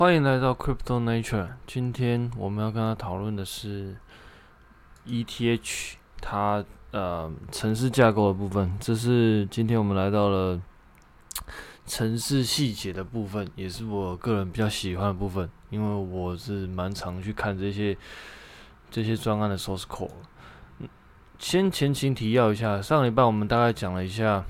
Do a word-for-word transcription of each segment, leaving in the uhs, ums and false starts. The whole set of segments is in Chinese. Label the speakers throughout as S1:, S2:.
S1: 欢迎来到 Crypto Nature。今天我们要跟他讨论的是 E T H 它呃城市架构的部分。这是今天我们来到了城市细节的部分，也是我个人比较喜欢的部分，因为我是蛮常去看这些这些专案的 source code。先前情提要一下，上礼拜我们大概讲了一下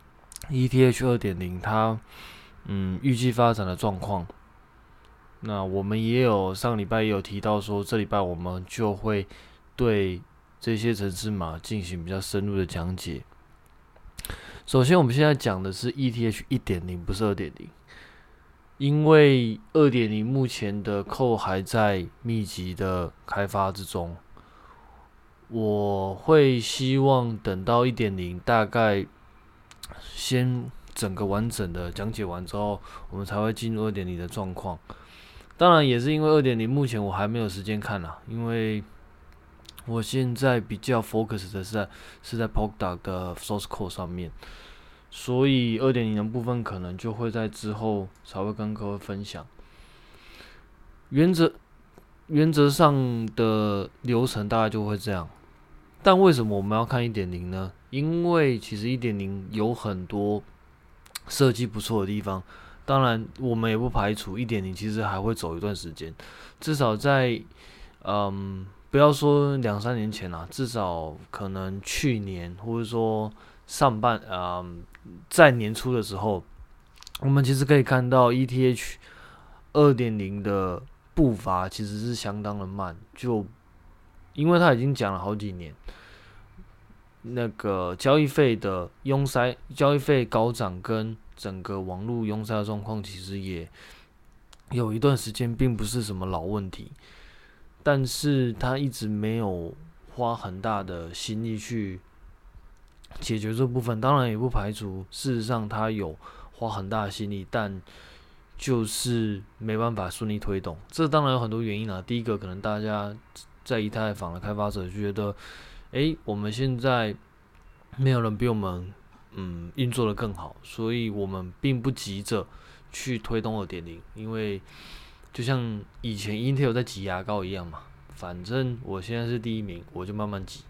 S1: E T H 二点零它嗯预计发展的状况。那我们也有上礼拜也有提到说，这礼拜我们就会对这些程式码进行比较深入的讲解。首先，我们现在讲的是 E T H 一点零，不是二点零，因为二点零目前的 code 还在密集的开发之中。我会希望等到一点零，大概先整个完整的讲解完之后，我们才会进入二点零的状况。当然也是因为二点零目前我还没有时间看啦，因为我现在比较 focus 的是在是在 Polkadot 的 source code 上面，所以二点零的部分可能就会在之后才会跟各位分享。原则原则上的流程大概就会这样，但为什么我们要看一点零呢？因为其实一点零有很多设计不错的地方。当然，我们也不排除一点零其实还会走一段时间，至少在嗯，不要说两三年前啦，至少可能去年或者说上半嗯，在年初的时候，我们其实可以看到 E T H 二点零的步伐其实是相当的慢，就因为他已经讲了好几年，那个交易费的拥塞、交易费高涨跟整个网络拥塞的状况，其实也有一段时间并不是什么老问题，但是他一直没有花很大的心力去解决这部分。当然也不排除事实上他有花很大的心力，但就是没办法顺利推动。这当然有很多原因啦。第一个，可能大家在以太坊的开发者就觉得，诶，我们现在没有人比我们嗯运作的更好，所以我们并不急着去推动 二点零， 因为就像以前 Intel 在挤牙膏一样嘛，反正我现在是第一名，我就慢慢挤，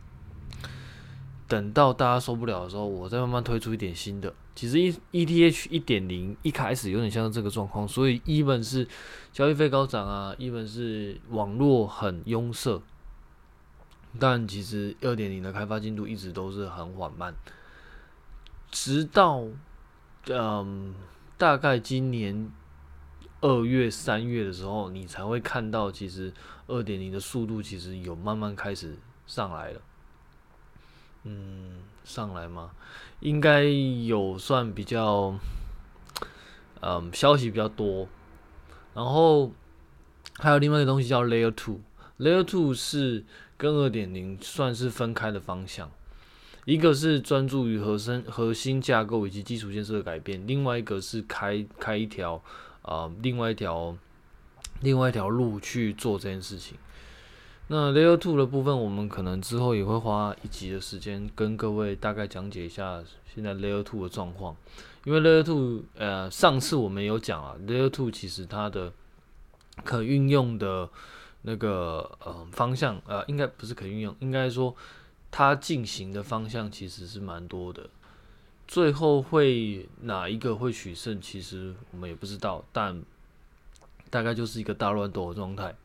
S1: 等到大家受不了的时候，我再慢慢推出一点新的。其实 E T H 一点零 一开始有点像这个状况，所以 even 是交易费高涨啊 ，even 是网络很拥塞，但其实 二点零 的开发进度一直都是很缓慢，直到嗯大概今年二月、三月的时候，你才会看到其实 二点零 的速度其实有慢慢开始上来了。嗯，上来吗？应该有算比较，嗯，消息比较多。然后还有另外一个东西叫 Layer Two，Layer Two 是跟 二点零 算是分开的方向。一个是专注于核心核心架构以及基础建设的改变，另外一个是开开一条呃另外一条另外一条路去做这件事情。那 Layer Two 的部分，我们可能之后也会花一集的时间跟各位大概讲解一下现在 Layer Two 的状况。因为 Layer Two， 呃，上次我们有讲啊 ，Layer Two 其实它的可运用的那个呃方向，呃，应该不是可运用，应该说它进行的方向其实是蛮多的。最后会哪一个会取胜，其实我们也不知道，但大概就是一个大乱斗的状态。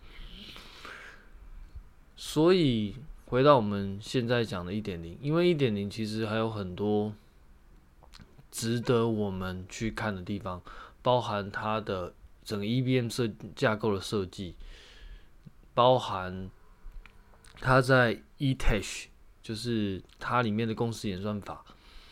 S1: 所以回到我们现在讲的 一点零， 因为 一点零 其实还有很多值得我们去看的地方，包含它的整个 E V M 设架构的设计，包含它在 E T H， 就是它里面的共识演算法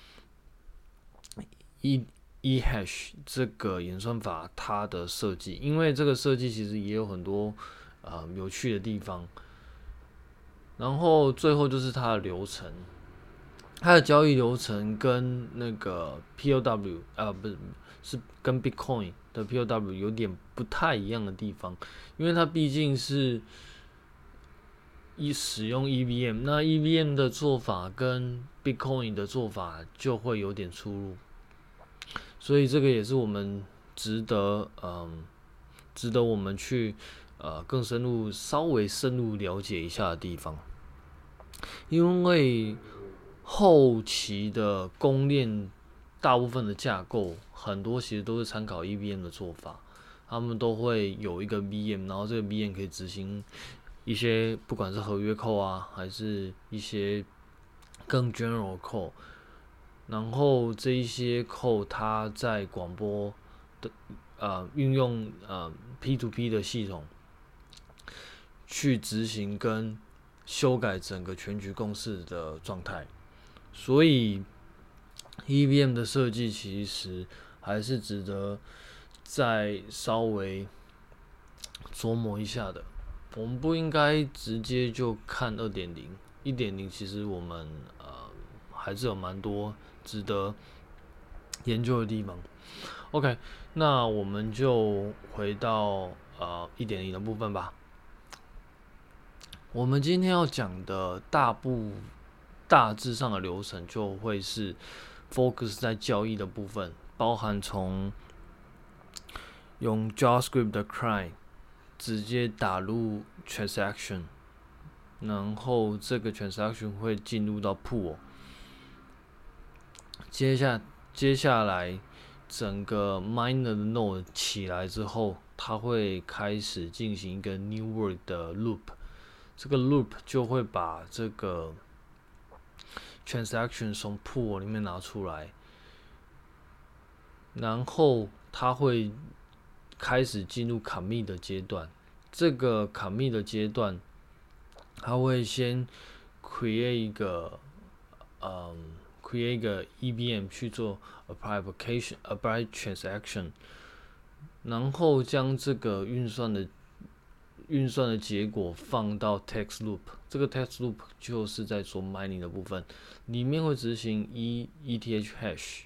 S1: E E hash 这个演算法它的设计，因为这个设计其实也有很多呃有趣的地方。然后最后就是它的流程，它的交易流程跟那个 P O W 啊，不是是跟 Bitcoin 的 P O W 有点不太一样的地方，因为它毕竟是一使用 E V M， 那 E V M 的做法跟 Bitcoin 的做法就会有点出入，所以这个也是我们值得嗯值得我们去呃更深入、稍微深入了解一下的地方。因为后期的公链大部分的架构，很多其实都是参考 E V M 的做法，他们都会有一个 V M， 然后这个 V M 可以执行一些不管是合约扣啊，还是一些更 general 扣，然后这一些扣它在广播的呃运用呃 P to P 的系统去执行跟修改整个全局共识的状态，所以 E V M 的设计其实还是值得再稍微琢磨一下的。我们不应该直接就看 二点零，一点零其实我们呃还是有蛮多值得研究的地方。OK， 那我们就回到呃 一点零 的部分吧。我们今天要讲的大部大致上的流程就会是 focus 在交易的部分，包含从用 JavaScript 的 client 直接打入 transaction， 然后这个 transaction 会进入到 pool， 接下接下来整个 miner 的 node 起来之后，它会开始进行一个 new world 的 loop。这个 loop 就会把这个 transaction 从 pool 里面拿出来，然后它会开始进入 commit 的阶段。这个 commit 的阶段，它会先 create 一个，嗯 ，create 一个 E V M 去做 apply application、apply transaction， 然后将这个运算的运算的结果放到 text loop， 这个 text loop 就是在做 mining 的部分，里面会执行 E ETH hash，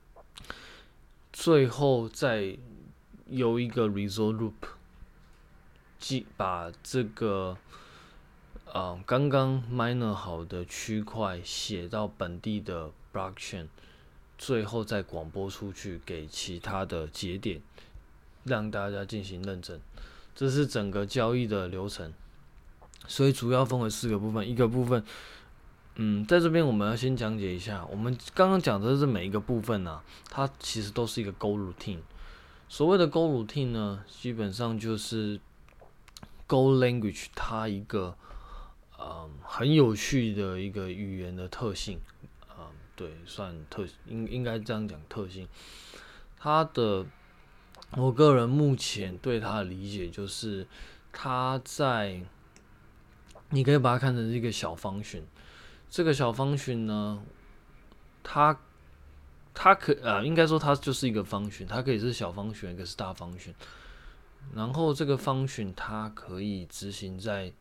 S1: 最后再有一个 result loop， 即把这个呃刚刚 miner 好的区块写到本地的 blockchain， 最后再广播出去给其他的节点，让大家进行认证。这是整个交易的流程，所以主要分为四个部分。一个部分，嗯，在这边我们要先讲解一下，我们刚刚讲的是每一个部分啊，它其实都是一个 Go routine。所谓的 Go routine 呢，基本上就是 Go language 它一个嗯很有趣的一个语言的特性，嗯，对，算特应应该这样讲特性，它的。我个人目前对它的理解就是，它在，你可以把它看成是一个小方群。这个小方群呢，它它可啊，应该说它就是一个方群，它可以是小方群，也可以是大方群。然后这个方群它可以执行在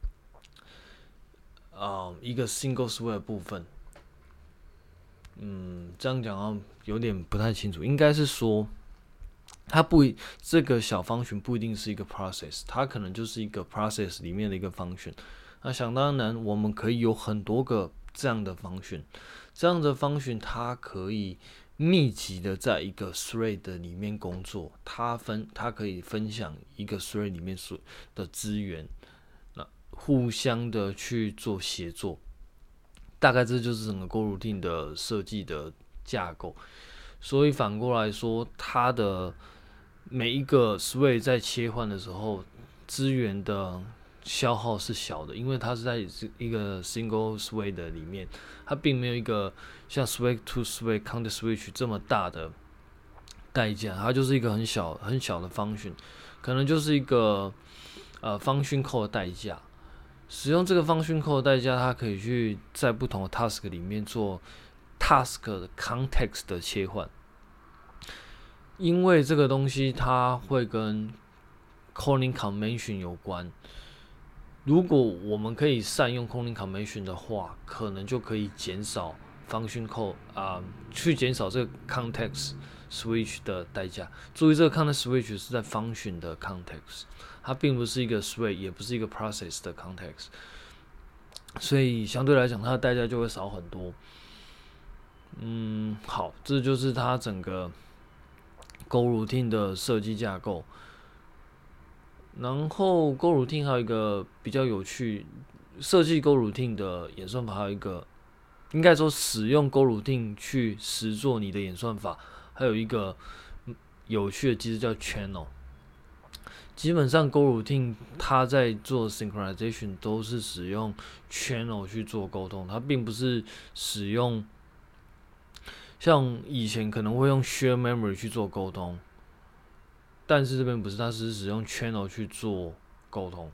S1: 啊、呃、一个 single sway 的部分。嗯，这样讲啊有点不太清楚，应该是说。它不，这个小方群不一定是一个 process， 它可能就是一个 process 里面的一个方群。那想当然，我们可以有很多个这样的方群，这样的方群它可以密集的在一个 thread 里面工作，它分它可以分享一个 thread 里面所的资源，那互相的去做协作。大概这就是整个 Go routine 的设计的架构。所以反过来说，它的每一个 sway 在切换的时候，资源的消耗是小的，因为它是在一个 single sway 的里面，它并没有一个像 sway to sway counter switch 这么大的代价，它就是一个很小很小的function，可能就是一个呃 function call 的代价。使用这个 function call 的代价，它可以去在不同的 task 里面做 task 的 context 的切换。因为这个东西它会跟 calling convention 有关，如果我们可以善用 calling convention 的话，可能就可以减少 function call 啊、呃，去减少这个 context switch 的代价。注意，这个 context switch 是在 function 的 context， 它并不是一个 sway， 也不是一个 process 的 context， 所以相对来讲，它的代价就会少很多。嗯，好，这就是它整个Go routine 的设计架构。 然后 Goroutine 还有一个比较有趣，设计 Goroutine 的演算法还有一个，应该说使用 Goroutine 去实做你的演算法，还有一个有趣的机制叫 Channel。基本上 Goroutine 它在做 synchronization 都是使用 channel 去做沟通，它并不是使用像以前可能会用 share memory 去做沟通，但是这边不是，它是使用 channel 去做沟通。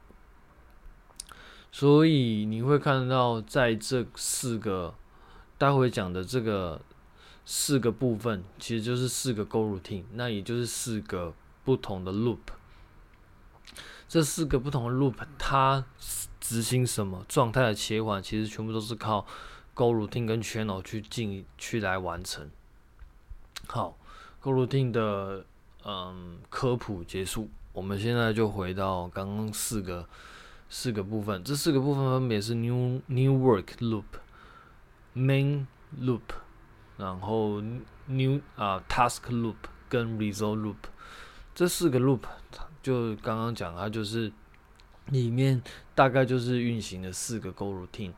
S1: 所以你会看到在这四个待会讲的这个四个部分，其实就是四个 Goroutine， 那也就是四个不同的 loop。这四个不同的 loop， 它执行什么状态的切换，其实全部都是靠 Goroutine 跟 Channel 去进去来完成。好 ，Goroutine 的嗯科普结束，我们现在就回到刚刚四个四个部分。这四个部分分别是 New New Work Loop、Main Loop， 然后 New 啊、呃、Task Loop 跟 Result Loop。这四个 loop 就刚刚讲，它就是里面大概就是运行的四个 Goroutine，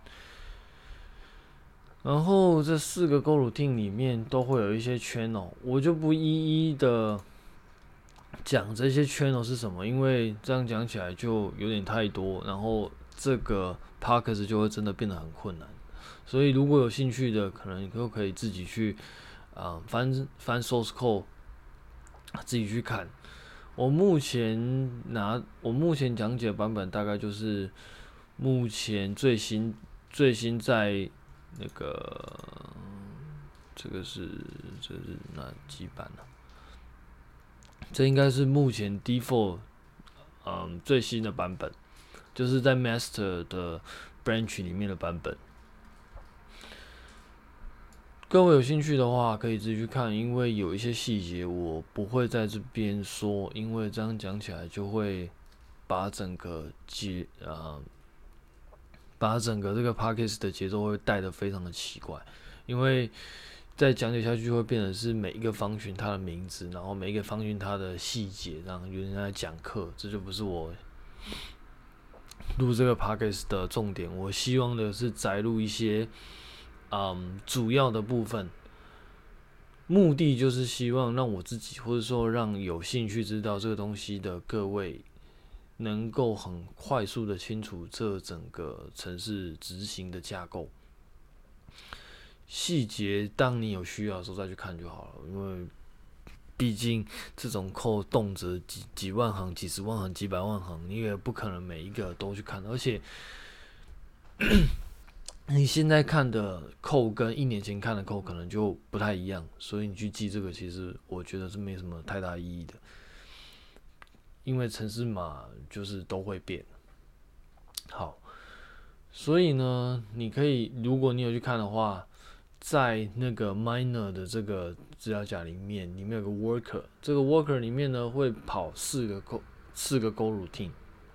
S1: 然后这四个 Goroutine 里面都会有一些 channel， 我就不一一的讲这些 channel 是什么，因为这样讲起来就有点太多，然后这个 podcast 就会真的变得很困难。所以如果有兴趣的，可能都可以自己去啊、呃、翻翻 source code， 自己去看。我目前拿我目前讲解的版本大概就是目前最新最新在那个这个是这是哪几版呢、啊？这应该是目前 default 嗯最新的版本，就是在 master 的 branch 里面的版本。各位有兴趣的话，可以自己去看，因为有一些细节我不会在这边说，因为这样讲起来就会把整个节呃，把整个这个 podcast 的节奏会带得非常的奇怪，因为再讲解下去会变成是每一个方群它的名字，然后每一个方群它的细节，然后有人在讲课，这就不是我录这个 podcast 的重点。我希望的是摘录一些。嗯，主要的部分，目的就是希望让我自己，或者说让有兴趣知道这个东西的各位，能够很快速的清楚这整个程式执行的架构。细节，当你有需要的时候再去看就好了，因为毕竟这种code动辄几几万行、几十万行、几百万行，你也不可能每一个都去看，而且。你现在看的code跟一年前看的code可能就不太一样，所以你去记这个，其实我觉得是没什么太大意义的，因为程式码就是都会变。好，所以呢，你可以，如果你有去看的话，在那个 miner 的这个资料夹里面，里面有个 worker， 这个 worker 里面呢会跑四个 go 四个 Goroutine。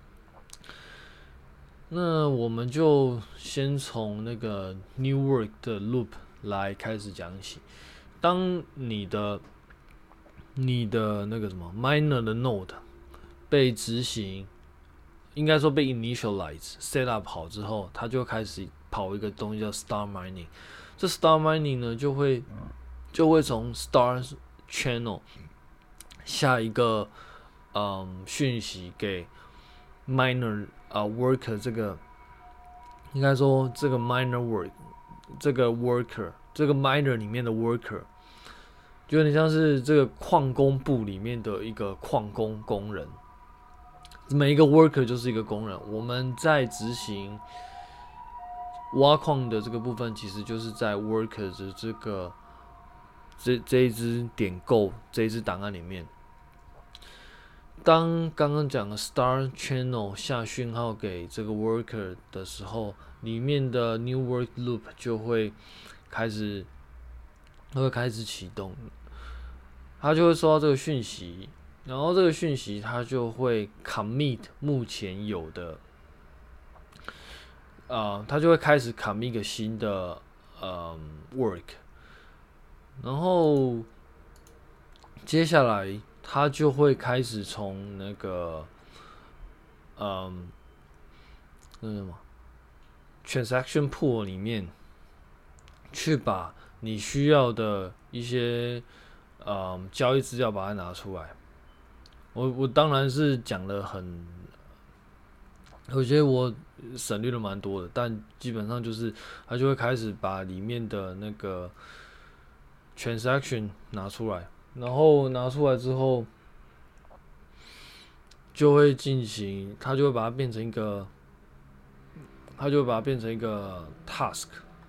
S1: 那我们就先从那个 New Work 的 Loop 来开始讲起。当你的你的那个什么 Miner 的 Node 被执行，应该说被 initialize set up 好之后，它就开始跑一个东西叫 Start Mining。这 Start Mining 呢，就会就会从 Start Channel 下一个嗯讯息给 Miner。啊、uh, ，worker 这个应该说这个 miner work 这个 worker 这个 miner 里面的 worker， 就有点像是这个矿工部里面的一个矿工工人，每一个 worker 就是一个工人。我们在执行挖矿的这个部分，其实就是在 worker 的这个这这一支点 Go 这一支档案里面。当刚刚讲的 Start Channel 下讯号给这个 Worker 的时候，里面的 New Work Loop 就会开始，会开始启动，它就会收到这个讯息，然后这个讯息它就会 commit 目前有的，呃，它就会开始 commit 一个新的呃 work， 然后接下来。它就会开始从那个嗯，那什么 transaction pool 里面去把你需要的一些嗯交易资料把它拿出来。我我当然是讲的很，我觉得我省略了蛮多的，但基本上就是他就会开始把里面的那个 transaction 拿出来，然后拿出来之后就会进行，他就会把它变成一个，他就会把它变成一个 task。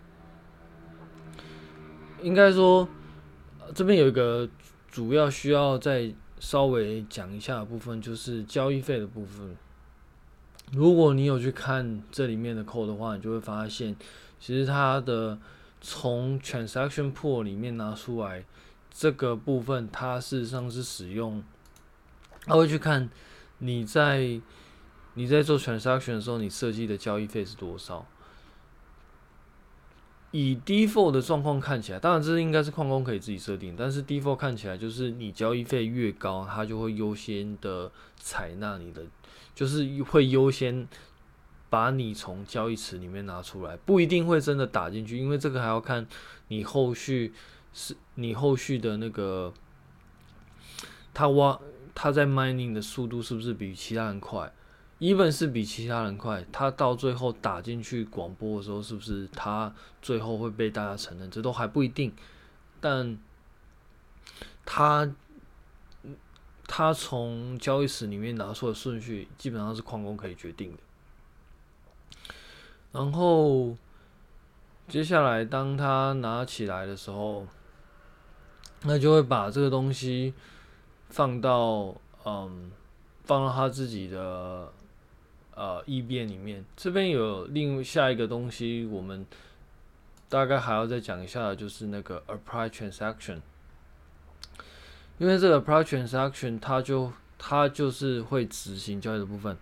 S1: 应该说这边有一个主要需要再稍微讲一下的部分，就是交易费的部分。如果你有去看这里面的 code 的话，你就会发现，其实它的从 transaction pool 里面拿出来这个部分，它事实上是使用，它会去看你在你在做 transaction 的时候，你设计的交易费是多少。以 default 的状况看起来，当然这应该是矿工可以自己设定，但是 default 看起来就是你交易费越高，它就会优先的采纳你的，就是会优先把你从交易池里面拿出来，不一定会真的打进去，因为这个还要看你后续是你后续的那个，他挖他在 mining 的速度是不是比其他人快？even 是比其他人快，他到最后打进去广播的时候，是不是他最后会被大家承认？这都还不一定。但他他从交易池里面拿出的顺序，基本上是矿工可以决定的。然后接下来，当他拿起来的时候，那就会把这个东西放到嗯，放到他自己的。呃 E B N 里面，这边有另下一个东西，我们大概还要再讲一下的，就是那个 apply transaction， 因为这个 apply transaction 它就它就是会执行交易的部分。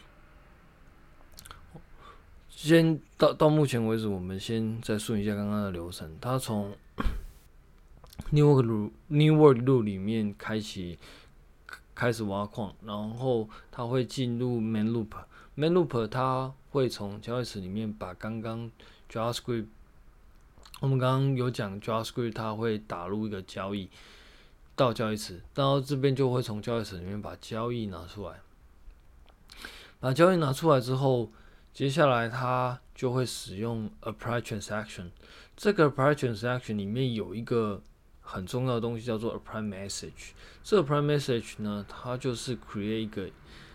S1: 先到到目前为止，我们先再顺一下刚刚的流程。它从 New Work Loop New Work Loop 里面开启开始挖矿，然后它会进入 Main Loop。Main Loop 它会从交易池里面把刚刚 JavaScript， 我们刚刚有讲 JavaScript 它会打入一个交易到交易池，到这边就会从交易池里面把交易拿出来。把交易拿出来之后，接下来它就会使用 Apply Transaction。这个 Apply Transaction 里面有一个很重要的东西叫做 Apply Message。这个 Apply Message 呢，它就是 create 一个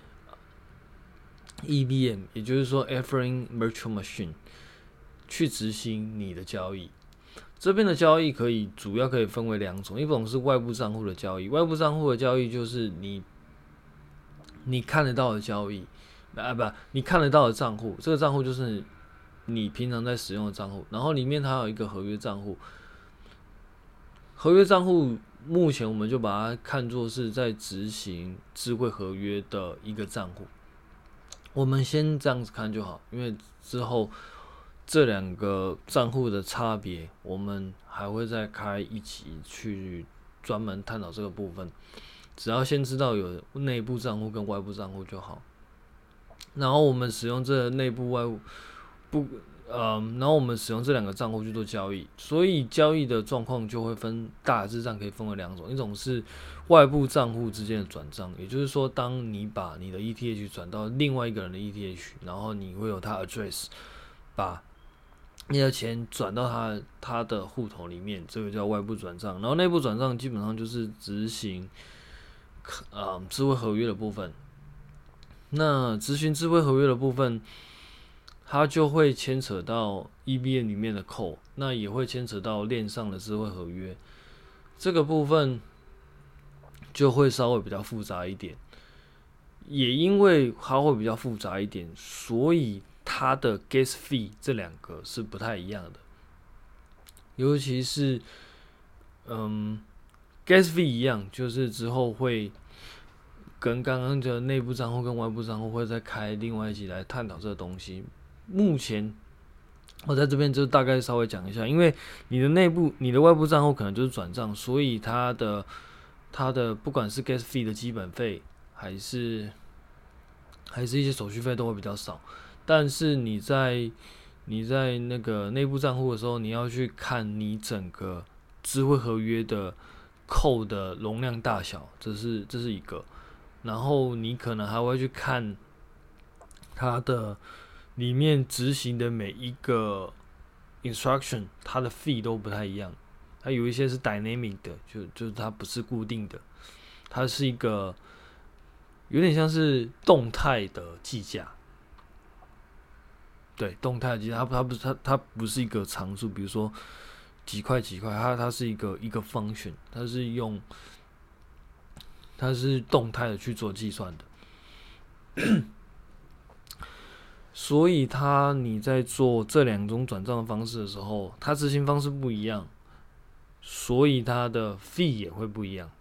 S1: E V M， 也就是说 Ethereum Virtual Machine 去执行你的交易。这边的交易可以主要可以分为两种，一种是外部账户的交易，外部账户的交易就是你你看得到的交易，啊不，你看得到的账户，这个账户就是你平常在使用的账户，然后里面它有一个合约账户，合约账户目前我们就把它看作是在执行智慧合约的一个账户。我们先这样子看就好，因为之后这两个账户的差别，我们还会再开一集去专门探讨这个部分。只要先知道有内部账户跟外部账户就好。然后我们使用这内部外部不呃，然后我们使用这两个账户去做交易，所以交易的状况就会分大致上可以分为两种，一种是外部账户之间的转账，也就是说，当你把你的 E T H 转到另外一个人的 E T H， 然后你会有他 address， 把你的钱转到他他的户头里面，这个叫外部转账。然后内部转账基本上就是执行呃智慧合约的部分。那执行智慧合约的部分，它就会牵扯到 E V M 里面的 code， 那也会牵扯到链上的智慧合约。这个部分就会稍微比较复杂一点，也因为它会比较复杂一点，所以它的 gas fee 这两个是不太一样的。尤其是，嗯 ，gas fee 一样，就是之后会跟刚刚的内部账户跟外部账户会再开另外一集来探讨这个东西。目前我在这边就大概稍微讲一下，因为你的内部、你的外部账户可能就是转账，所以它的它的不管是 gas fee 的基本费，还是还是一些手续费都会比较少。但是你在你在那个内部账户的时候，你要去看你整个智慧合约的扣的容量大小，这是这是一个。然后你可能还会去看它的里面执行的每一个 instruction， 它的 fee 都不太一样。它有一些是 dynamic 的，就就是它不是固定的，它是一个有点像是动态的计价。对，动态的计价，它它不是它它不是一个常数，比如说几块几块，它它是一个一个 function， 它是用它是动态的去做计算的。所以它你在做这两种转账的方式的时候，它执行方式不一样，所以它的 fee 也会不一样。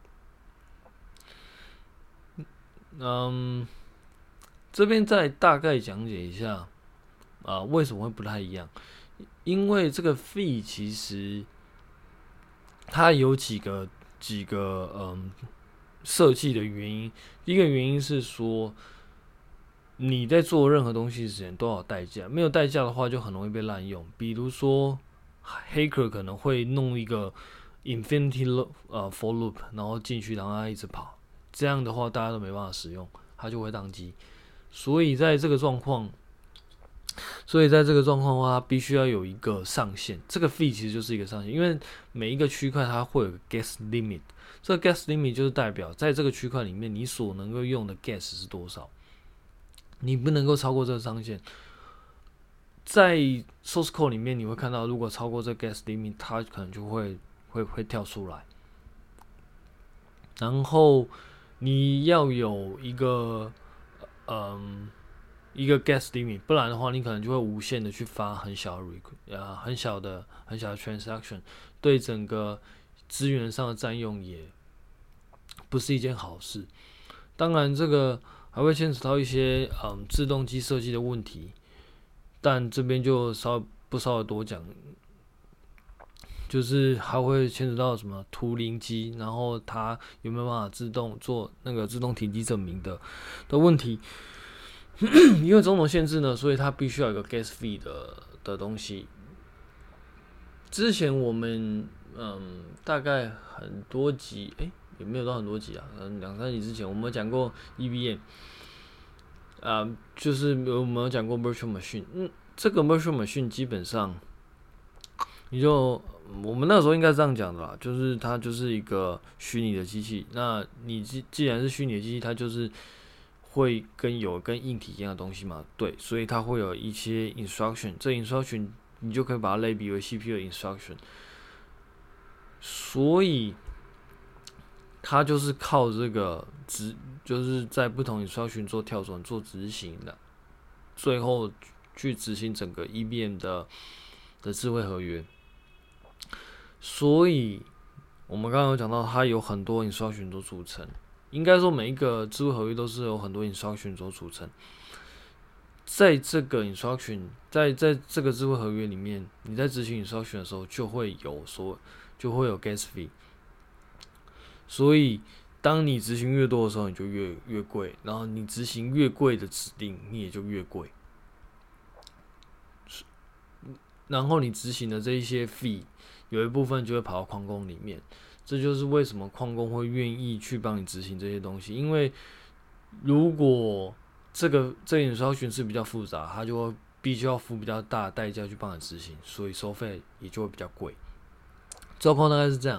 S1: 嗯，这边再大概讲解一下啊，为什么会不太一样？因为这个 fee 其实它有几个几个嗯设计的原因。第一个原因是说，你在做任何东西之前都要有代价，没有代价的话就很容易被滥用。比如说，黑客可能会弄一个 infinity loop 呃 for loop， 然后进去让它一直跑，这样的话大家都没办法使用，它就会宕机。所以在这个状况，所以在这个状况的话，它必须要有一个上限。这个 fee 其实就是一个上限，因为每一个区块它会有个 gas limit， 这个 gas limit 就是代表在这个区块里面你所能够用的 gas 是多少。你不能够超过这个上限。在 source code 里面，你会看到，如果超过这个 gas limit， 它可能就会会会跳出来。然后你要有一个嗯一个 gas limit， 不然的话，你可能就会无限的去发很小的 request 啊，很小的很小的 transaction， 对整个资源上的占用也不是一件好事。当然，这个还会牵扯到一些嗯自动机设计的问题，但这边就稍微不稍微多讲，就是还会牵扯到什么图灵机，然后它有没有办法自动做那个自动停机证明的的问题。因为种种限制呢，所以它必须要有一个 gas fee 的的东西。之前我们嗯大概很多集，诶、欸，也没有到很多集啊，嗯两三集之前我们讲过 E V M。啊、呃，就是我们有讲过 virtual machine， 嗯，这个 virtual machine 基本上，你就我们那时候应该这样讲的啦，就是它就是一个虚拟的机器。那你既既然是虚拟的机器，它就是会跟有跟硬体一样的东西嘛，对，所以它会有一些 instruction， 这 instruction 你就可以把它类比为 C P U 的 instruction， 所以它就是靠这个执，就是在不同 instruction 做跳转、做执行的，最后去执行整个 E V M 的的智慧合约。所以我们刚刚有讲到，它有很多 instruction 做组成。应该说，每一个智慧合约都是有很多 instruction 所组成。在这个 instruction， 在在这个智慧合约里面，你在执行 instruction 的时候，就会有所就会有 gas fee。所以，当你执行越多的时候，你就越越贵；然后你执行越贵的指令，你也就越贵。然后你执行的这一些 fee， 有一部分就会跑到矿工里面。这就是为什么矿工会愿意去帮你执行这些东西，因为如果这个这个 instruction 是比较复杂，他就会必须要付比较大的代价去帮你执行，所以收费也就会比较贵。状况大概是这样。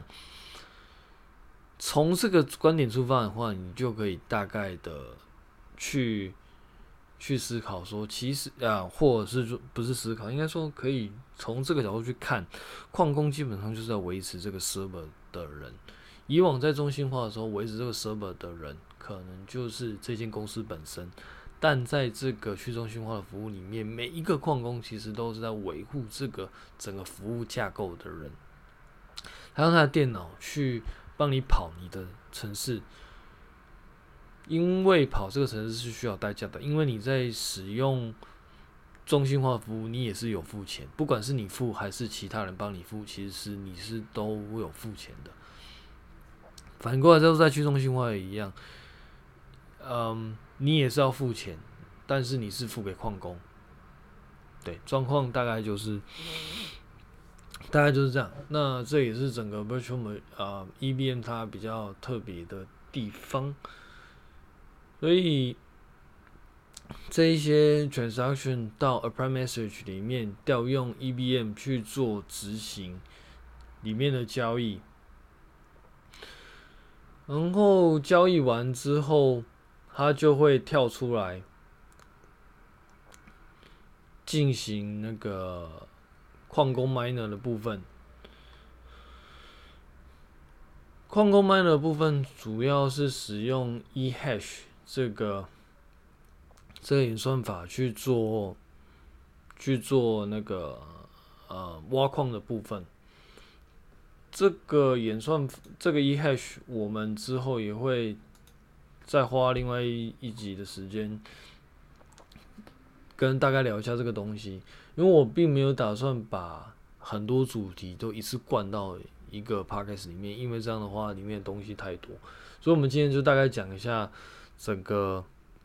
S1: 从这个观点出发的话，你就可以大概的去去思考说，其实啊，或者是说不是思考，应该说可以从这个角度去看，矿工基本上就是要维持这个 server 的人。以往在中心化的时候，维持这个 server 的人可能就是这间公司本身，但在这个去中心化的服务里面，每一个矿工其实都是在维护这个整个服务架构的人，他用他的电脑去帮你跑你的程式，因为跑这个程式是需要代价的，因为你在使用中心化服务，你也是有付钱，不管是你付还是其他人帮你付，其实是你是都有付钱的。反过来就是在去中心化也一样，嗯，你也是要付钱， 但是你是付给矿工。对，状况大概就是大概就是这样。那这也是整个 Virtual 呃 E V M 它比较特别的地方。所以这一些 transaction 到 apply message 里面调用 E V M 去做执行里面的交易，然后交易完之后，它就会跳出来进行那个矿工 miner 的部分。矿工 miner 的部分主要是使用 eHash 这个这个演算法去做去做那个呃挖矿的部分。这个演算这个 eHash 我们之后也会再花另外一一集的时间跟大概聊一下这个东西，因为我并没有打算把很多主题都一次灌到一个 podcast 里面，因为这样的话里面的东西太多，所以我们今天就大概讲一下整个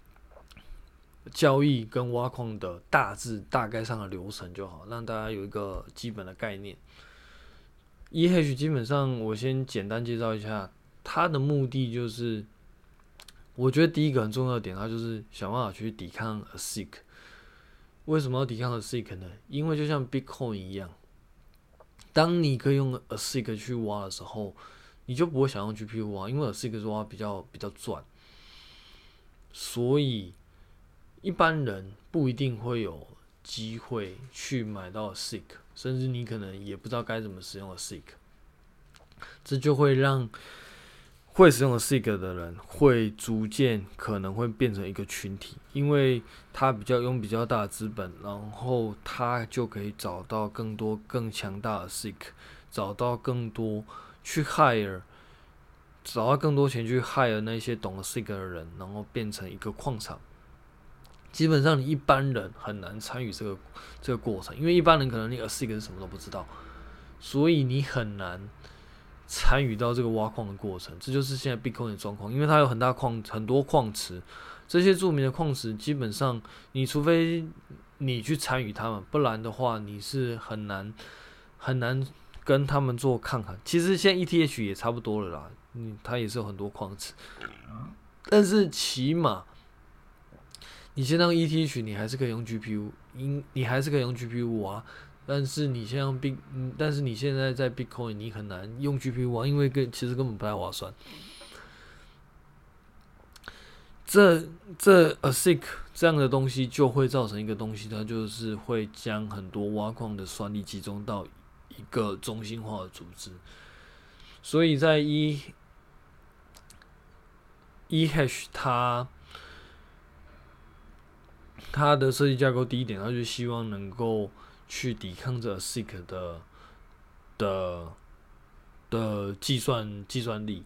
S1: 交易跟挖矿的大致大概上的流程就好，让大家有一个基本的概念。eHash 基本上我先简单介绍一下，它的目的就是，我觉得第一个很重要的点，它就是想办法去抵抗 A S I C。为什么要抵抗 A S I C 呢？因为就像 Bitcoin 一样，当你可以用 A S I C 去挖的时候，你就不会想用 G P U 挖，因为 A S I C 挖比较比较赚，所以一般人不一定会有机会去买到 A S I C， 甚至你可能也不知道该怎么使用 A S I C， 这就会让会使用 A S I C 的人会逐渐可能会变成一个群体，因为他比较用比较大的资本，然后他就可以找到更多更强大的 A S I C， 找到更多去 hire， 找到更多钱去 hire 那些懂 A S I C 的人，然后变成一个矿场。基本上你一般人很难参与这个这个过程，因为一般人可能你 A S I C 是什么都不知道，所以你很难参与到这个挖矿的过程。这就是现在 Bitcoin 的状况，因为它有很大矿很多矿池，这些著名的矿池基本上你除非你去参与他们，不然的话你是很难很难跟他们做抗衡。其实现在 E T H 也差不多了啦，嗯，它也是有很多矿池，但是起码你先让 E T H， 你还是可以用 G P U， 你还是可以用 G P U 挖，但是你现在用 Bit， 但是你现在在 Bitcoin 你很难用 G P U 挖，因为跟其实根本不太划算。这这 A S I C 这样的东西就会造成一个东西，它就是会将很多挖矿的算力集中到一个中心化的组织，所以在 E eHash 它它的设计架构第一点，它就希望能够去抵抗这 A S I C 的的的计算计算力。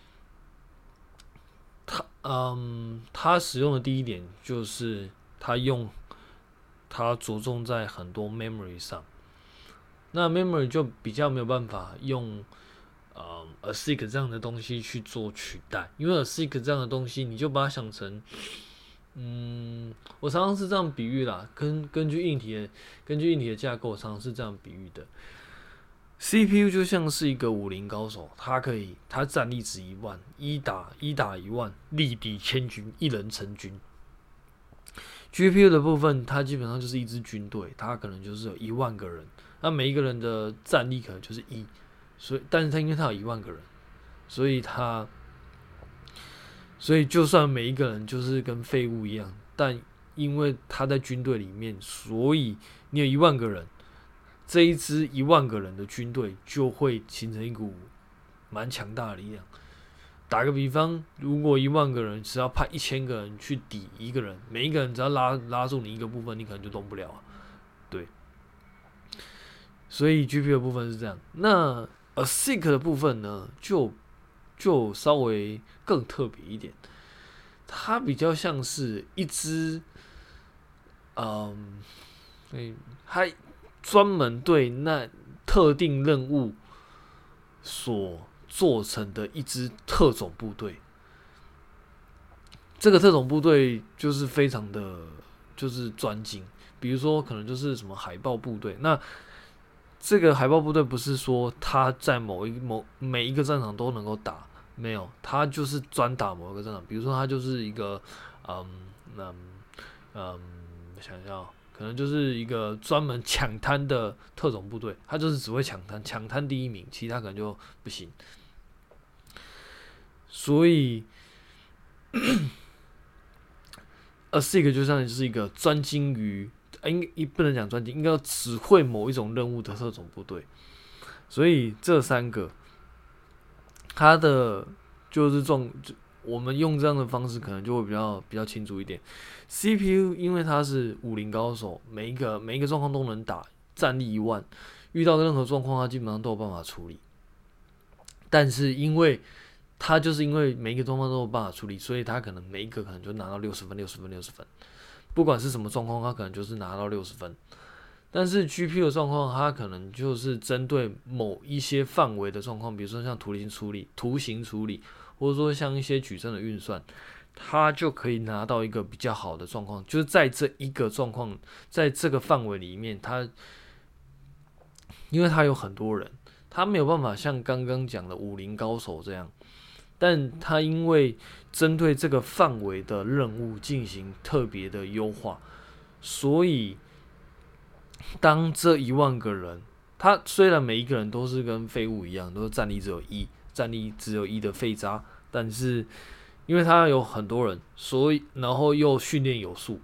S1: 它嗯，它使用的第一点就是它用它着重在很多 memory 上，那 memory 就比较没有办法用嗯 A S I C 这样的东西去做取代，因为 A S I C 这样的东西，你就把它想成。嗯，我常常是这样比喻啦，根根据硬体的根据硬体的架构，常常是这样比喻的。C P U 就像是一个武林高手，他可以，他战力值一万，一打一打一万，力敌千军，一人成军。G P U 的部分，它基本上就是一支军队，它可能就是有一万个人，那每一个人的战力可能就是一，所以，但是它因为它有一万个人，所以它。所以，就算每一个人就是跟废物一样，但因为他在军队里面，所以你有一万个人，这一支一万个人的军队就会形成一股蛮强大的力量。打个比方，如果一万个人只要派一千个人去抵一个人，每一个人只要拉拉住你一个部分，你可能就动不了啊。对，所以 G P U 的部分是这样。那 A S I C 的部分呢，就就稍微更特别一点，它比较像是一支，嗯，所以它专门对那特定任务所做成的一支特种部队。这个特种部队就是非常的就是专精，比如说可能就是什么海豹部队，那这个海豹部队不是说他在某一某每一个战场都能够打，没有，他就是专打某一个战场，比如说他就是一个嗯嗯嗯，想一下哦，可能就是一个专门抢滩的特种部队，他就是只会抢滩，抢滩第一名，其他可能就不行。所以 ，A S I C 就像就是一个专精于，应不能讲专精，应该只会某一种任务的特种部队。所以这三个，它的就是状，我们用这样的方式可能就会比较比较清楚一点。C P U 因为它是武林高手，每一个每一个状况都能打，战力一万，遇到任何状况它基本上都有办法处理。但是因为他就是因为每一个状况都有办法处理，所以他可能每一个可能就拿到六十分、六十分、六十分，不管是什么状况，他可能就是拿到六十分。但是 G P U 的状况，它可能就是针对某一些范围的状况，比如说像图形处理、图形处理，或者说像一些矩阵的运算，它就可以拿到一个比较好的状况，就是在这一个状况，在这个范围里面，它因为它有很多人，他没有办法像刚刚讲的武林高手这样。但他因为针对这个范围的任务进行特别的优化，所以当这一万个人，他虽然每一个人都是跟废物一样，都是战力只有一，战力只有一的废渣，但是因为他有很多人，所以然后又训练有素，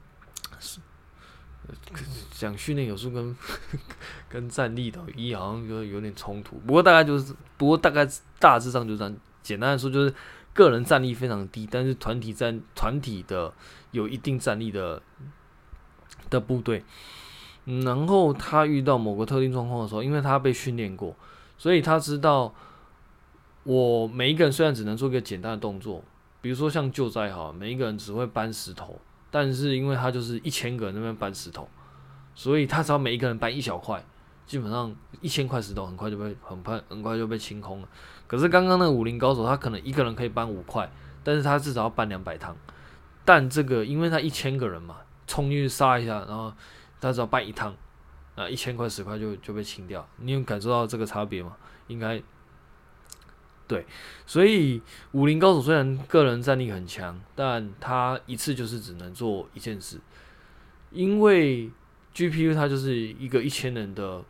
S1: 讲训练有素跟跟战力等于一好像就有点冲突。不过大概就是，不过大概大致上就这样。简单的说，就是个人战力非常低，但是团体战团体的有一定战力的的部队。然后他遇到某个特定状况的时候，因为他被训练过，所以他知道我每一个人虽然只能做一个简单的动作，比如说像救灾好，每一个人只会搬石头，但是因为他就是一千个人那边搬石头，所以他只要每一个人搬一小块，基本上一千块石头很快就被很快很快就被清空了。可是刚刚那个武林高手，他可能一个人可以搬五块，但是他至少要搬两百趟。但这个因为他一千个人嘛，冲进去杀一下，然后他只要搬一趟，啊，一千块十块就就被清掉。你有感受到这个差别吗？应该对。所以武林高手虽然个人战力很强，但他一次就是只能做一件事，因为 G P U 它就是一个一千人的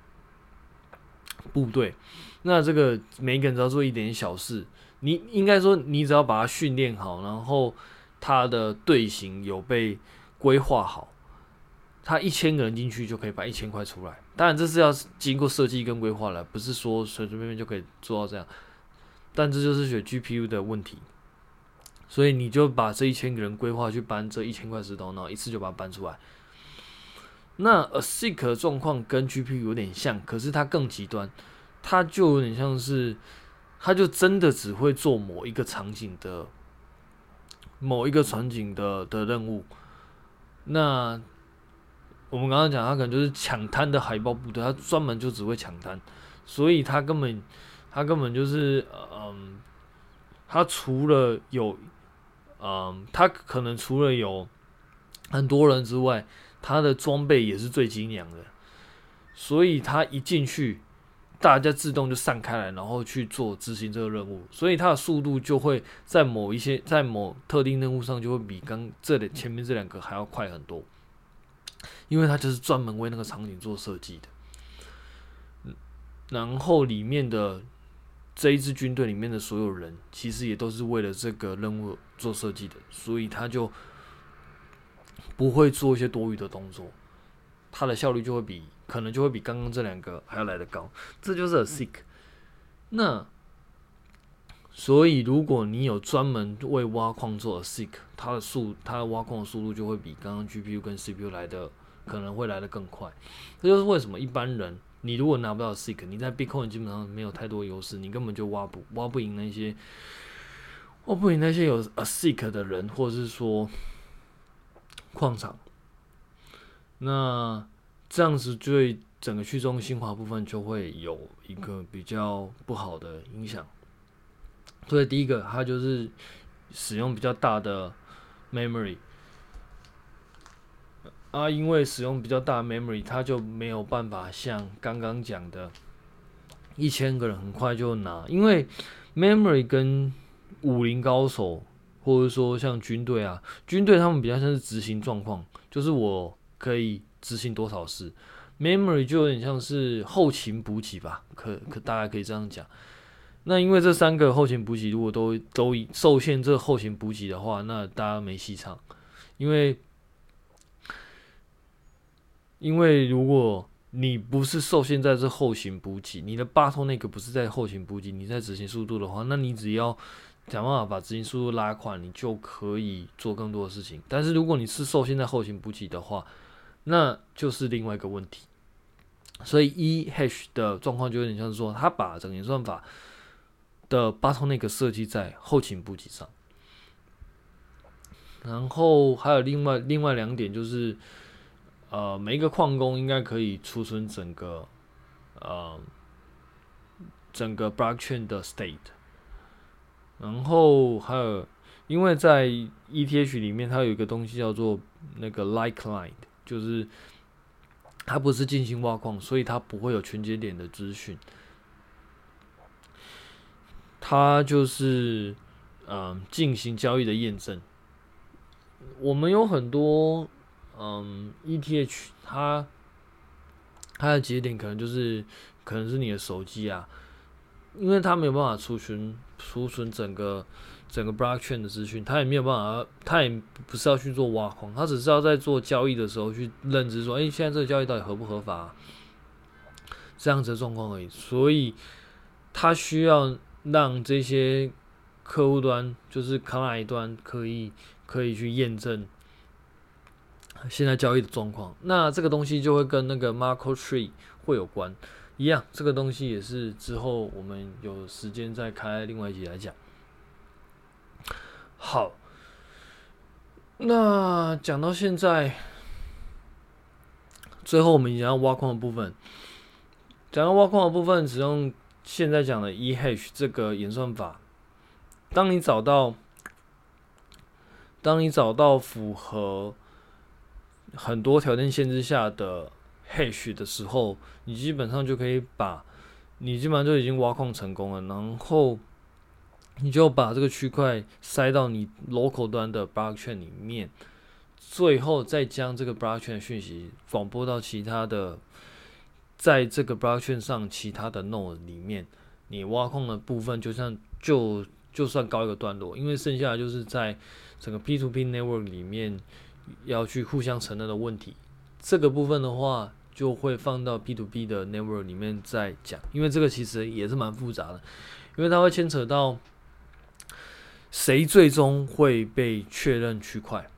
S1: 部队，那这个每一个人只要做一点小事，你应该说你只要把它训练好，然后他的队形有被规划好，他一千个人进去就可以把一千块出来。当然这是要经过设计跟规划了，不是说随随便便就可以做到这样。但这就是学 G P U 的问题，所以你就把这一千个人规划去搬这一千块石头，然后一次就把它搬出来。那 A S I C 的状况跟 G P U 有点像，可是它更极端，它就有点像是，它就真的只会做某一个场景的某一个场景的的任务。那我们刚刚讲，它可能就是抢滩的海豹部队，它专门就只会抢滩，所以它根本它根本就是嗯，它除了有嗯，它可能除了有很多人之外，他的装备也是最精良的，所以他一进去，大家自动就散开来，然后去做执行这个任务，所以他的速度就会在某一些在某特定任务上就会比刚这里前面这两个还要快很多，因为他就是专门为那个场景做设计的。然后里面的这一支军队里面的所有人，其实也都是为了这个任务做设计的，所以他就不会做一些多余的动作，它的效率就会比可能就会比刚刚这两个还要来得高，这就是 A S I C。那所以如果你有专门为挖矿做 A S I C， 它的速它的挖矿的速度就会比刚刚 G P U 跟 C P U 来的可能会来得更快。这就是为什么一般人你如果拿不到 A S I C， 你在 Bitcoin 基本上没有太多优势，你根本就挖不挖不赢那些挖不赢那些有 A S I C 的人，或者是说矿场。那这样子对整个去中心化部分就会有一个比较不好的影响。所以第一个，它就是使用比较大的 memory。 啊，因为使用比较大的 memory， 它就没有办法像刚刚讲的，一千个人很快就拿，因为 memory 跟武林高手，或者说像军队啊，军队他们比较像是执行状况，就是我可以执行多少事。memory 就有点像是后勤补给吧，可可大概可以这样讲。那因为这三个后勤补给如果都都受限这后勤补给的话，那大家没戏唱，因为因为如果你不是受限在这后勤补给，你的 bottleneck 不是在后勤补给，你在执行速度的话，那你只要想办法把执行速度拉快，你就可以做更多的事情。但是如果你是受限在后勤补给的话，那就是另外一个问题。所以 E hash 的状况就有点像是说，它把整个演算法的 bottleneck 设计在后勤补给上。然后还有另外另外两点就是，呃，每一个矿工应该可以储存整个呃整个 blockchain 的 state。然后还有，因为在 E T H 里面，它有一个东西叫做那个 light client， 就是它不是进行挖矿，所以它不会有全节点的资讯。它就是嗯进行交易的验证。我们有很多嗯 E T H， 它它的节点可能就是可能是你的手机啊，因为它没有办法储存储存整个整个 blockchain 的资讯，它也没有办法，它也不是要去做挖矿，它只是要在做交易的时候去认知说，哎、欸，现在这个交易到底合不合法、啊，这样子的状况而已。所以它需要让这些客户端，就是卡哪一端可以可以去验证现在交易的状况。那这个东西就会跟那个 Markov Tree 会有关，一样，这个东西也是之后我们有时间再开另外一集来讲。好，那讲到现在，最后我们讲到挖矿的部分，讲到挖矿的部分，使用现在讲的 E hash 这个演算法，当你找到当你找到符合很多条件限制下的 hash 的时候，你基本上就可以把，你基本上就已经挖矿成功了，然后你就把这个区块塞到你 local 端的 blockchain 里面，最后再将这个 blockchain 的讯息广播到其他的，在这个 blockchain 上其他的 node 里面，你挖矿的部分就像就就算告一个段落，因为剩下的就是在整个 P to P network 里面要去互相承认的问题。这个部分的话，就会放到 P to P 的 network 里面再讲，因为这个其实也是蛮复杂的，因为它会牵扯到谁最终会被确认区块。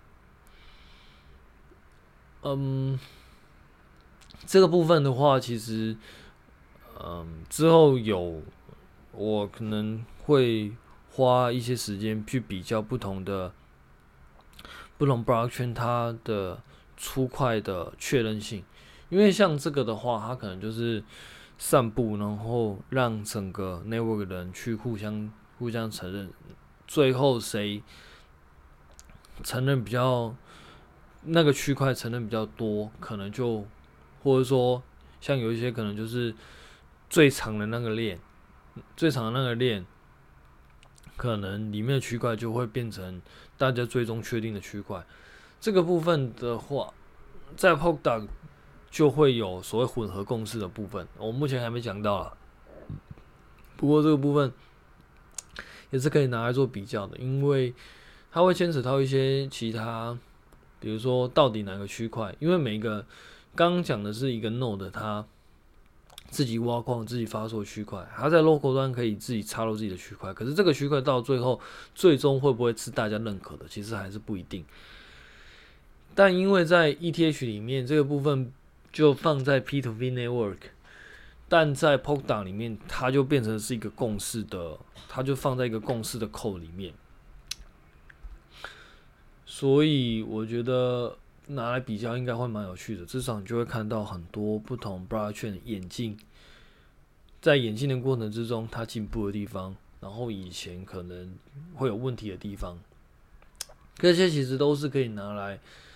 S1: 嗯，这个部分的话，其实嗯之后有我可能会花一些时间去比较不同的不同 blockchain 它的出块的确认性，因为像这个的话，它可能就是散布，然后让整个 network 的人去互相互相承认，最后谁承认比较那个区块承认比较多，可能就或者说像有一些可能就是最长的那个链，最长的那个链，可能里面的区块就会变成大家最终确定的区块。这个部分的话，在 Polkadot 就会有所谓混合共识的部分，我目前还没讲到啦。不过这个部分也是可以拿来做比较的，因为它会牵扯到一些其他，比如说到底哪个区块，因为每一个刚刚讲的是一个 node， 它自己挖矿、自己发售区块，它在 local 端可以自己插入自己的区块，可是这个区块到最后最终会不会是大家认可的，其实还是不一定。但因为在 E T H 里面这个部分就放在 P to P network， 但在 Polkadot 里面它就变成是一个共识的，它就放在一个共识的 code 里面。所以我觉得拿来比较应该会蛮有趣的，至少你就会看到很多不同 blockchain 的演进，在演进的过程之中，它进步的地方，然后以前可能会有问题的地方，这些其实都是可以拿来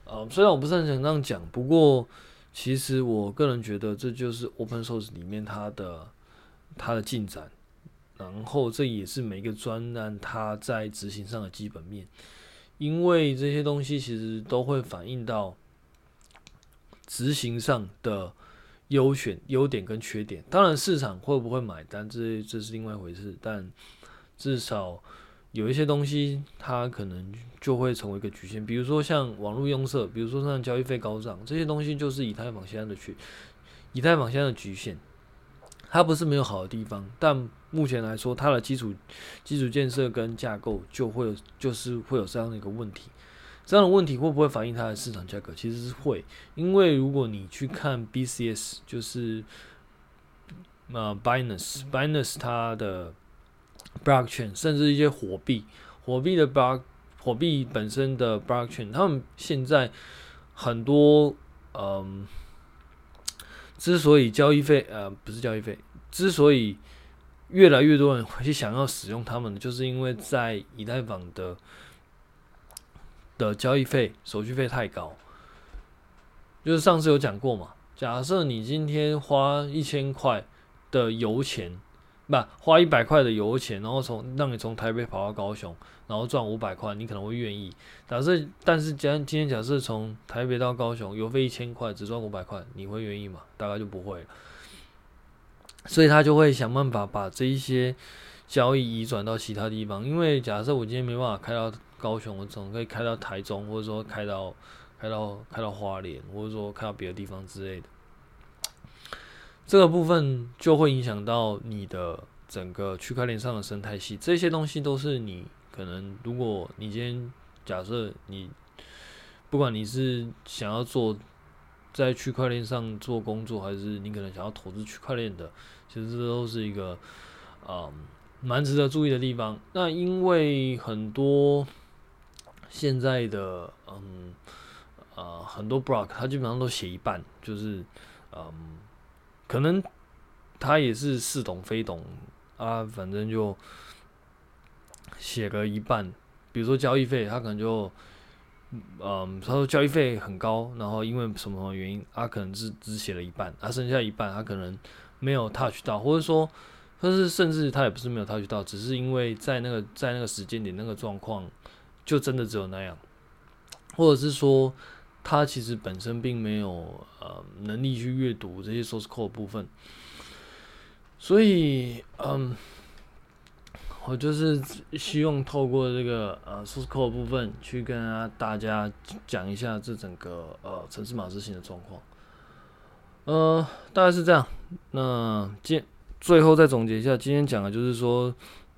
S1: 呃，虽然我不是很想这样讲，不过其实我个人觉得这就是 Open Source 里面它的它的进展，然后这也是每个专案它在执行上的基本面，因为这些东西其实都会反映到执行上的优选、优点跟缺点。当然，市场会不会买单，这这是另外一回事，但至少有一些东西，它可能就会成为一个局限，比如说像网络用色，比如说像交易费高涨，这些东西就是以太坊现在的局，以太坊现在的局限。它不是没有好的地方，但目前来说，它的基础基础建设跟架构就会有就是会有这样的一个问题。这样的问题会不会反映它的市场价格？其实是会，因为如果你去看 B C S， 就是呃 Binance，Binance 它的 blockchain， 甚至一些火币，火币的 block 火币本身的 blockchain， 他们现在很多嗯，之所以交易费呃不是交易费，之所以越来越多人会想要使用他们的，就是因为在以太坊的的交易费、手续费太高。就是上次有讲过嘛，假设你今天花一千块的油钱，不花一百块的油钱，然后从让你从台北跑到高雄，然后赚五百块，你可能会愿意。假设，但是今天假设从台北到高雄，油费一千块，只赚五百块，你会愿意吗？大概就不会了。所以他就会想办法把这一些交易移转到其他地方，因为假设我今天没办法开到高雄，我总可以开到台中，或者说开到开到开到花莲，或者说开到别的地方之类的。这个部分就会影响到你的整个区块链上的生态系，这些东西都是你可能，如果你今天假设你不管你是想要做在区块链上做工作，还是你可能想要投资区块链的，其实这都是一个嗯蛮值得注意的地方。那因为很多现在的嗯呃很多 block 它基本上都写一半，就是嗯可能他也是似懂非懂啊，反正就写个一半。比如说交易费，他可能就嗯他说交易费很高，然后因为什么原因，他、啊、可能只只写了一半，啊剩下一半他可能没有 touch 到，或者说。但是甚至他也不是没有 touch 到，只是因为在那个在那个时间点那个状况，就真的只有那样，或者是说他其实本身并没有呃能力去阅读这些 source code 的部分，所以嗯，我就是希望透过这个呃 source code 的部分去跟大家讲一下这整个呃程式码执行的状况，呃，大概是这样。那今最后再总结一下，今天讲的就是说，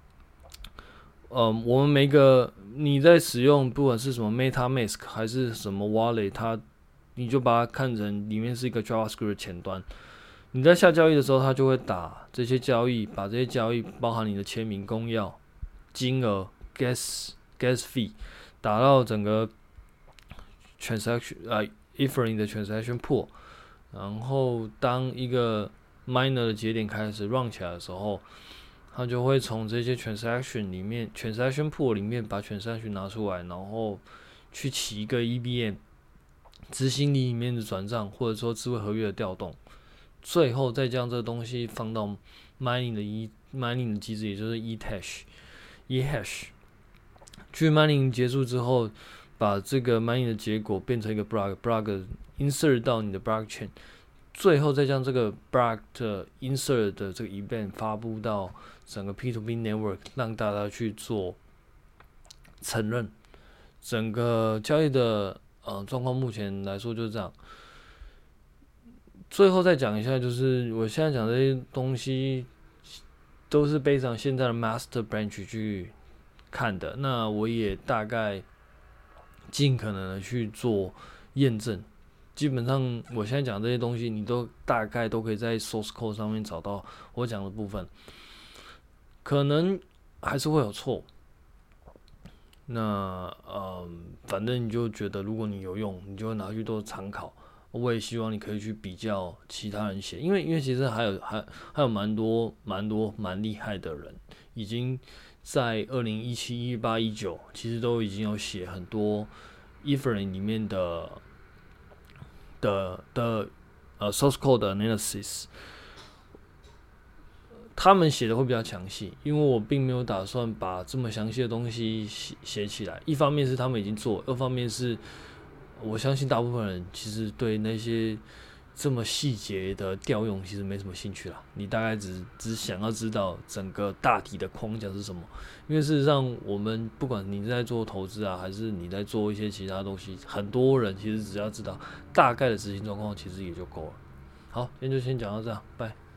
S1: 嗯，我们每个你在使用，不管是什么 MetaMask 还是什么 Wallet， 它你就把它看成里面是一个 JavaScript 的前端。你在下交易的时候，它就会打这些交易，把这些交易包含你的签名、公钥、金额、gas gas fee， 打到整个 transaction 啊 Ethereum 的 transaction pool， 然后当一个 miner 的节点开始 run 起来的时候，它就会从这些 transaction 里面 transaction pool 里面把 transaction 拿出来，然后去起一个 E V M 执行里面的转账，或者说智慧合约的调动，最后再将这个东西放到 mining 的 e mining 的机制，也就是 ehash ehash 去 mining 结束之后，把这个 mining 的结果变成一个 block block insert 到你的 blockchain。最后再将这个 block 的 insert 的这个 event 发布到整个 P to P network， 让大家去做承认。整个交易的呃状况目前来说就是这样。最后再讲一下，就是我现在讲这些东西都是背上现在的 master branch 去看的，那我也大概尽可能的去做验证。基本上我现在讲这些东西，你都大概都可以在 source code 上面找到我讲的部分，可能还是会有错。那嗯，反正你就觉得如果你有用，你就会拿去做参考。我也希望你可以去比较其他人写，因为因为其实还有还还有蛮多蛮多蛮厉害的人，已经在二零一七、一八、一九，其实都已经有写很多 Ethereum 里面的的的呃 source code analysis， 他们写的会比较详细，因为我并没有打算把这么详细的东西写写起来。一方面是他们已经做，二方面是我相信大部分人其实对那些这么细节的调用其实没什么兴趣啦，你大概只只想要知道整个大体的框架是什么。因为事实上，我们不管你在做投资啊，还是你在做一些其他东西，很多人其实只要知道大概的执行状况，其实也就够了。好，今天就先讲到这样，拜。